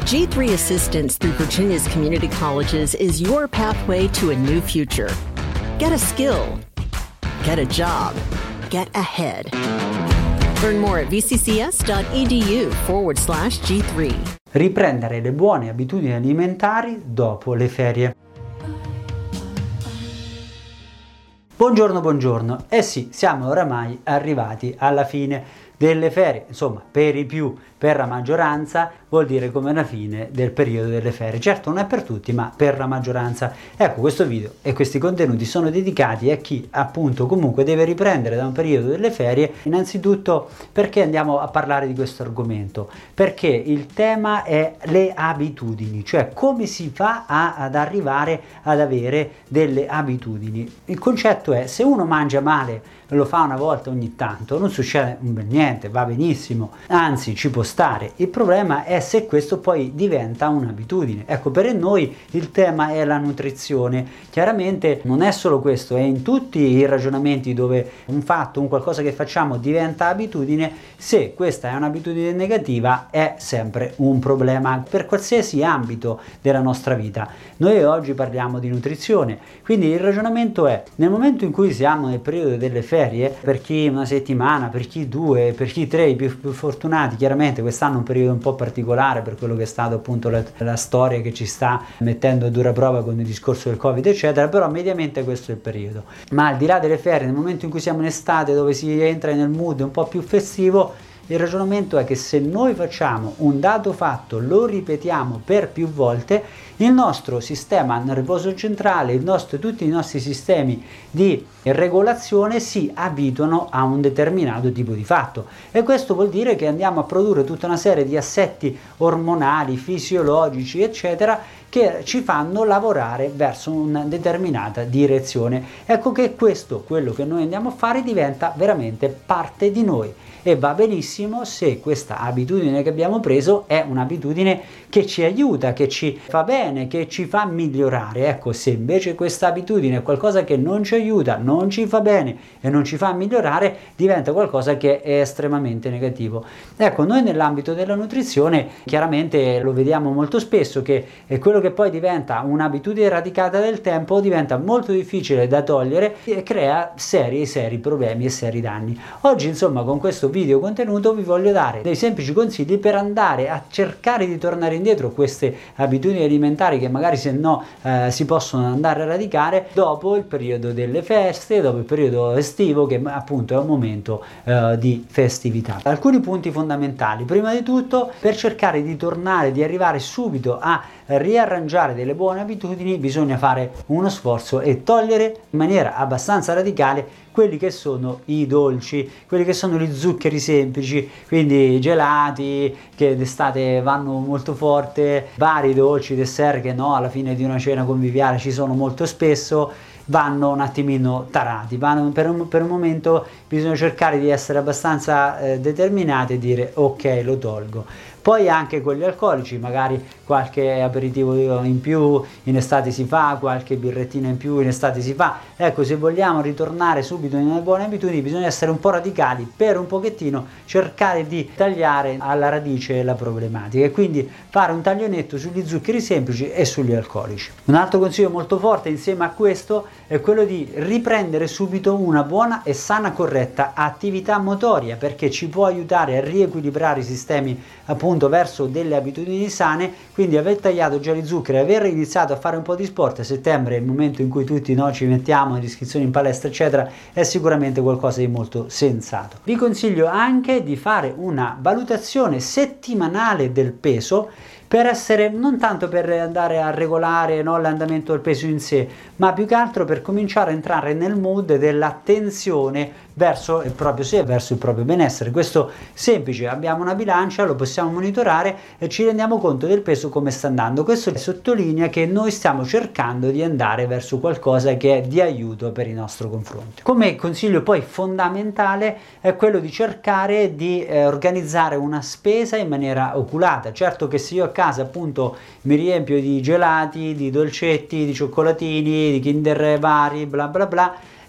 G3 Assistance through Virginia's community colleges is your pathway to a new future. Get a skill. Get a job. Get ahead. Learn more at vccs.edu/G3. Riprendere le buone abitudini alimentari dopo le ferie. Buongiorno. Eh sì, siamo oramai arrivati alla fine delle ferie, insomma, per i più, per la maggioranza, vuol dire come la fine del periodo delle ferie. Certo, non è per tutti, ma per la maggioranza. Ecco, questo video e questi contenuti sono dedicati a chi appunto comunque deve riprendere da un periodo delle ferie. Innanzitutto, perché andiamo a parlare di questo argomento? Perché il tema è le abitudini, cioè come si fa ad arrivare ad avere delle abitudini. Il concetto è: se uno mangia male, lo fa una volta ogni tanto, non succede un bel niente, va benissimo, anzi ci può stare. Il problema è se questo poi diventa un'abitudine. Ecco, per noi il tema è la nutrizione. Chiaramente non è solo questo, è in tutti i ragionamenti dove un fatto, un qualcosa che facciamo diventa abitudine. Se questa è un'abitudine negativa è sempre un problema per qualsiasi ambito della nostra vita. Noi oggi parliamo di nutrizione, quindi il ragionamento è: nel momento in cui siamo nel periodo delle ferie, per chi una settimana, per chi due, per chi tre, i più fortunati, chiaramente quest'anno è un periodo un po' particolare per quello che è stato appunto la storia che ci sta mettendo a dura prova con il discorso del Covid eccetera, però mediamente questo è il periodo. Ma al di là delle ferie, nel momento in cui siamo in estate, dove si entra nel mood un po' più festivo, il ragionamento è che se noi facciamo un dato fatto, lo ripetiamo per più volte, il nostro sistema nervoso centrale, tutti i nostri sistemi di regolazione si abituano a un determinato tipo di fatto, e questo vuol dire che andiamo a produrre tutta una serie di assetti ormonali, fisiologici eccetera, che ci fanno lavorare verso una determinata direzione. Ecco che questo, quello che noi andiamo a fare, diventa veramente parte di noi, e va benissimo se questa abitudine che abbiamo preso è un'abitudine che ci aiuta, che ci fa bene, che ci fa migliorare. Ecco, se invece questa abitudine è qualcosa che non ci aiuta, non ci fa bene e non ci fa migliorare, diventa qualcosa che è estremamente negativo. Ecco, noi nell'ambito della nutrizione chiaramente lo vediamo molto spesso, che è quello che poi diventa un'abitudine radicata nel tempo, diventa molto difficile da togliere e crea seri problemi e seri danni. Oggi, insomma, con questo video contenuto vi voglio dare dei semplici consigli per andare a cercare di tornare indietro queste abitudini alimentari che magari se no si possono andare a radicare dopo il periodo delle feste, dopo il periodo estivo, che appunto è un momento di festività. Alcuni punti fondamentali: prima di tutto, per cercare di tornare, di arrivare subito a riarrangiare delle buone abitudini, bisogna fare uno sforzo e togliere in maniera abbastanza radicale quelli che sono i dolci, quelli che sono gli zuccheri semplici, quindi i gelati che d'estate vanno molto forte, vari dolci, dessert che no, alla fine di una cena conviviale ci sono molto spesso, vanno un attimino tarati, per un momento bisogna cercare di essere abbastanza determinati e dire ok, lo tolgo. Poi anche quelli alcolici, magari qualche aperitivo in più in estate si fa, qualche birrettina in più in estate si fa. Ecco, se vogliamo ritornare subito nelle buone abitudini bisogna essere un po' radicali, per un pochettino cercare di tagliare alla radice la problematica, e quindi fare un taglio netto sugli zuccheri semplici e sugli alcolici. Un altro consiglio molto forte insieme a questo è quello di riprendere subito una buona e sana corretta attività motoria, perché ci può aiutare a riequilibrare i sistemi appunto verso delle abitudini sane. Quindi aver tagliato già gli zuccheri, aver iniziato a fare un po' di sport, a settembre è il momento in cui tutti noi ci mettiamo in iscrizioni in palestra eccetera, è sicuramente qualcosa di molto sensato. Vi consiglio anche di fare una valutazione settimanale del peso, per essere, non tanto per andare a regolare l'andamento del peso in sé, ma più che altro per cominciare a entrare nel mood dell'attenzione verso il proprio sé, verso il proprio benessere. Questo semplice: abbiamo una bilancia, lo possiamo monitorare e ci rendiamo conto del peso come sta andando. Questo sottolinea che noi stiamo cercando di andare verso qualcosa che è di aiuto per il nostro confronto. Come consiglio poi fondamentale è quello di cercare di organizzare una spesa in maniera oculata. Certo che se io a casa appunto mi riempio di gelati, di dolcetti, di cioccolatini, di Kinder vari, bla bla bla,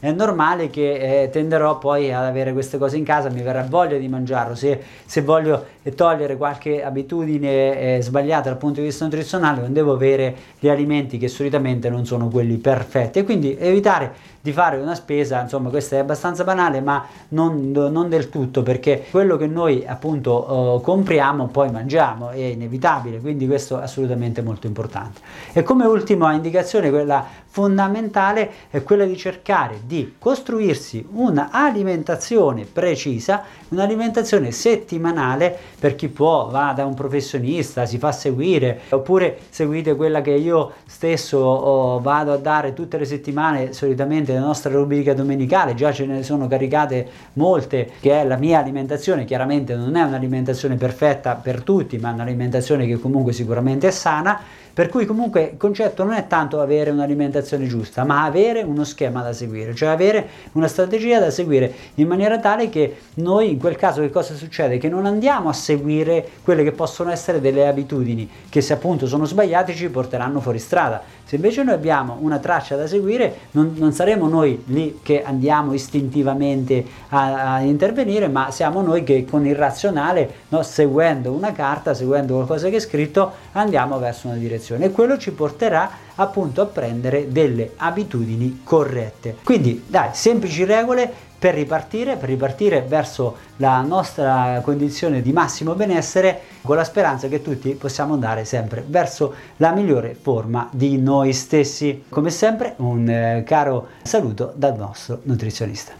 è normale che tenderò poi ad avere queste cose in casa, mi verrà voglia di mangiarlo. Se voglio togliere qualche abitudine sbagliata dal punto di vista nutrizionale, non devo avere gli alimenti che solitamente non sono quelli perfetti, e quindi evitare di fare una spesa, insomma, questa è abbastanza banale, ma non del tutto, perché quello che noi appunto compriamo poi mangiamo, è inevitabile, quindi questo è assolutamente molto importante. E come ultima indicazione, quella fondamentale, è quella di cercare di costruirsi un'alimentazione precisa, un'alimentazione settimanale. Per chi può, va da un professionista, si fa seguire, oppure seguite quella che io stesso vado a dare tutte le settimane, solitamente la nostra rubrica domenicale, già ce ne sono caricate molte, che è la mia alimentazione. Chiaramente non è un'alimentazione perfetta per tutti, ma è un'alimentazione che comunque sicuramente è sana, per cui comunque il concetto non è tanto avere un'alimentazione giusta, ma avere uno schema da seguire, cioè avere una strategia da seguire, in maniera tale che noi in quel caso che cosa succede? Che non andiamo a seguire quelle che possono essere delle abitudini che, se appunto sono sbagliate, ci porteranno fuori strada. Se invece noi abbiamo una traccia da seguire, non saremo noi lì che andiamo istintivamente a intervenire, ma siamo noi che con il razionale, no, seguendo una carta, seguendo qualcosa che è scritto, andiamo verso una direzione, e quello ci porterà appunto a prendere delle abitudini corrette. Quindi dai, semplici regole per ripartire verso la nostra condizione di massimo benessere, con la speranza che tutti possiamo andare sempre verso la migliore forma di noi stessi. Come sempre, un caro saluto dal nostro nutrizionista.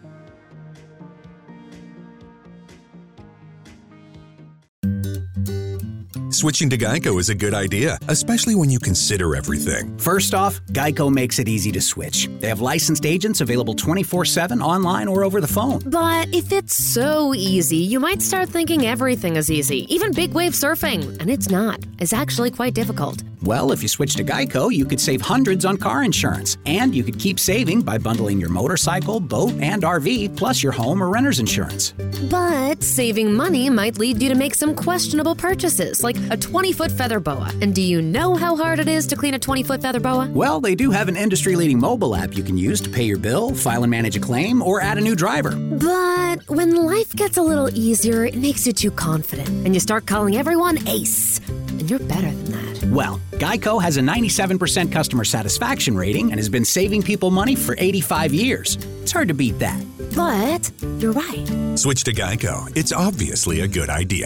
Switching to Geico is a good idea, especially when you consider everything. First off, Geico makes it easy to switch. They have licensed agents available 24/7 online or over the phone. But if it's so easy, you might start thinking everything is easy, even big wave surfing. And it's not. It's actually quite difficult. Well, if you switch to Geico, you could save hundreds on car insurance. And you could keep saving by bundling your motorcycle, boat, and RV, plus your home or renter's insurance. But saving money might lead you to make some questionable purchases, like a 20-foot feather boa. And do you know how hard it is to clean a 20-foot feather boa? Well, they do have an industry-leading mobile app you can use to pay your bill, file and manage a claim, or add a new driver. But when life gets a little easier, it makes you too confident, and you start calling everyone Ace. And you're better than that. Well, Geico has a 97% customer satisfaction rating and has been saving people money for 85 years. It's hard to beat that. But you're right. Switch to Geico. It's obviously a good idea.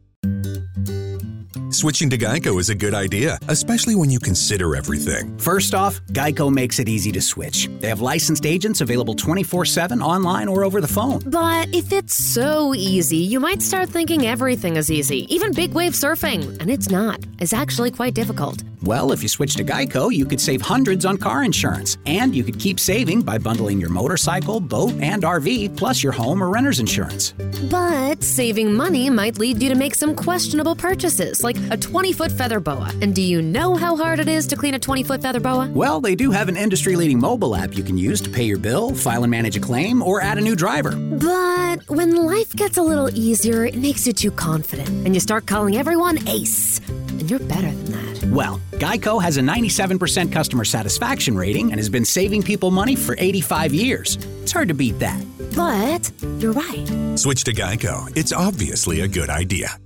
Switching to Geico is a good idea, especially when you consider everything. First off, Geico makes it easy to switch. They have licensed agents available 24/7 online or over the phone. But if it's so easy, you might start thinking everything is easy, even big wave surfing. And it's not. It's actually quite difficult. Well, if you switch to Geico, you could save hundreds on car insurance. And you could keep saving by bundling your motorcycle, boat, and RV, plus your home or renter's insurance. But saving money might lead you to make some questionable purchases, like a 20-foot feather boa. And do you know how hard it is to clean a 20-foot feather boa? Well, they do have an industry-leading mobile app you can use to pay your bill, file and manage a claim, or add a new driver. But when life gets a little easier, it makes you too confident, and you start calling everyone Ace. And you're better than that. Well, Geico has a 97% customer satisfaction rating and has been saving people money for 85 years. It's hard to beat that. But you're right. Switch to Geico. It's obviously a good idea.